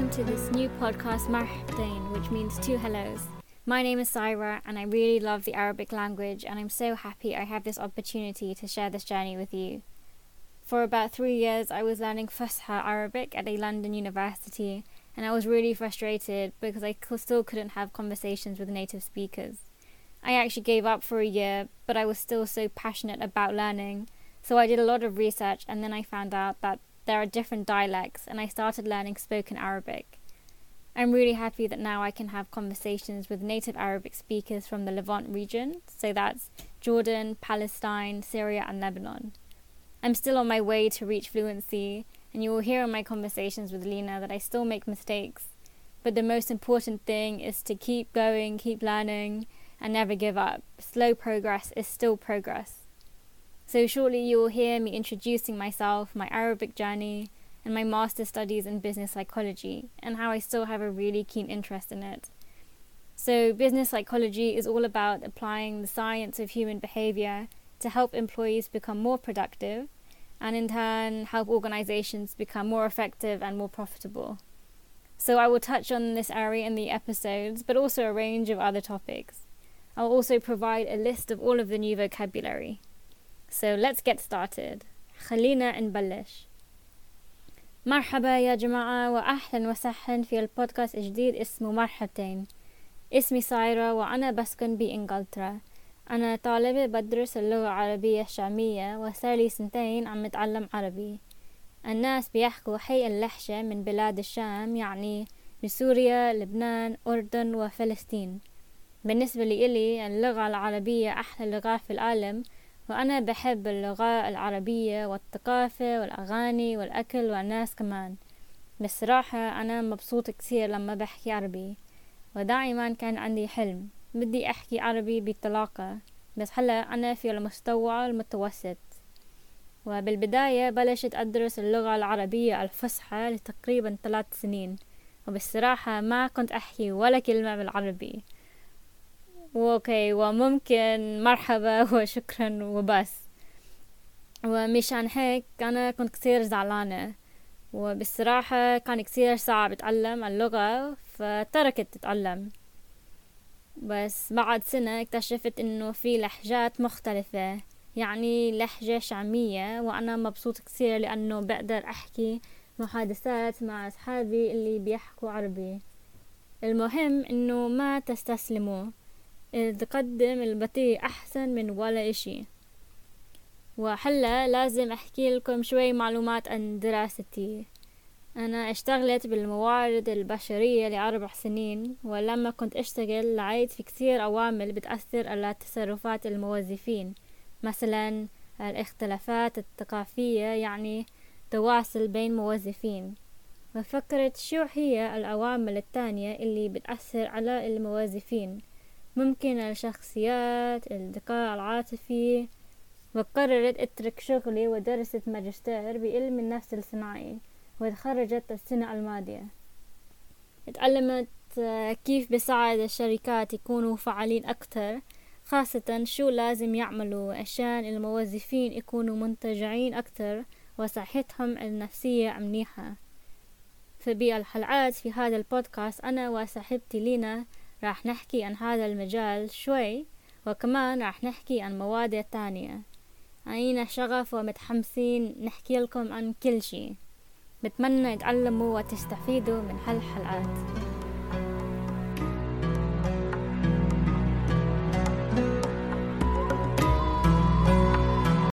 welcome to this new podcast Marhabatain, which means two hellos. My name is Saira and I really love the Arabic language, and I'm so happy I have this opportunity to share this journey with you. For about 3 years I was learning Fusha Arabic at a London university, and I was really frustrated because I still couldn't have conversations with native speakers. I actually gave up for a year, but I was still so passionate about learning, so I did a lot of research, and then I found out that there are different dialects, and I started learning spoken Arabic. I'm really happy that now I can have conversations with native Arabic speakers from the Levant region, so that's Jordan, Palestine, Syria and Lebanon. I'm still on my way to reach fluency, and you will hear in my conversations with Lena that I still make mistakes, but the most important thing is to keep going, keep learning, and never give up. Slow progress is still progress. So shortly you will hear me introducing myself, my Arabic journey, and my master's studies in business psychology, and how I still have a really keen interest in it. So business psychology is all about applying the science of human behavior to help employees become more productive, and in turn help organizations become more effective and more profitable. So I will touch on this area in the episodes, but also a range of other topics. I'll also provide a list of all of the new vocabulary. So let's get started. خلينا نبلش. مرحبا يا جماعة وأهلا وسهلا في البودكاست الجديد اسمه مرحبتين. اسمي سايرة وأنا بسكن بإنجلترا. أنا طالبة بدرس اللغة العربية الشامية وصار لي 2 عم أتعلم عربي. الناس بيحكوا هي اللهجة من بلاد الشام، يعني من سوريا، لبنان، أردن وفلسطين. بالنسبة لي اللغة العربية أحلى لغة في العالم، وأنا بحب اللغة العربية والثقافة والأغاني والأكل والناس كمان. بصراحة أنا مبسوط كثير لما بحكي عربي، ودائما كان عندي حلم بدي أحكي عربي بطلاقة، بس هلا أنا في المستوى المتوسط. وبالبداية بلشت أدرس اللغة العربية الفصحى لتقريبا 3 سنين، وبالصراحة ما كنت أحكي ولا كلمة بالعربي. اوكي، وممكن مرحبا وشكرا وبس. ومشان هيك أنا كنت كثير زعلانة، وبالصراحة كان كثير صعب أتعلم اللغة، فتركت أتعلم. بس بعد سنة اكتشفت إنه في لهجات مختلفة، يعني لهجة شامية، وأنا مبسوط كثير لأنه بقدر أحكي محادثات مع أصحابي اللي بيحكوا عربي. المهم إنه ما تستسلموا، تقدم البطيء أحسن من ولا إشي. وحلا لازم أحكي لكم شوي معلومات عن دراستي. أنا اشتغلت بالموارد البشرية ل4 سنين، ولما كنت أشتغل لقيت في كثير عوامل بتأثر على تصرفات الموظفين، مثلا الاختلافات الثقافية، يعني تواصل بين موظفين. وفكرت شو هي العوامل التانية اللي بتأثر على الموظفين، ممكن الشخصيات، الذكاء العاطفي. وقررت اترك شغلي ودرست ماجستير بعلم النفس الصناعي، وتخرجت السنة الماضية. اتعلمت كيف بساعد الشركات يكونوا فعالين أكتر، خاصة شو لازم يعملوا عشان الموظفين يكونوا منتجعين أكتر وصحتهم النفسية منيحة. فبالحلقات في هذا البودكاست أنا وصاحبتي لينا راح نحكي عن هذا المجال شوي، وكمان راح نحكي عن مواضيع تانية. عينا شغف ومتحمسين نحكي لكم عن كل شيء. بتمنى تتعلموا وتستفيدوا من هالحلقات.